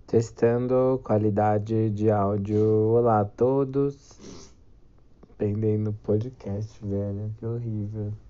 Testando qualidade de áudio. Olá a todos. Pendendo podcast, velho. Que horrível.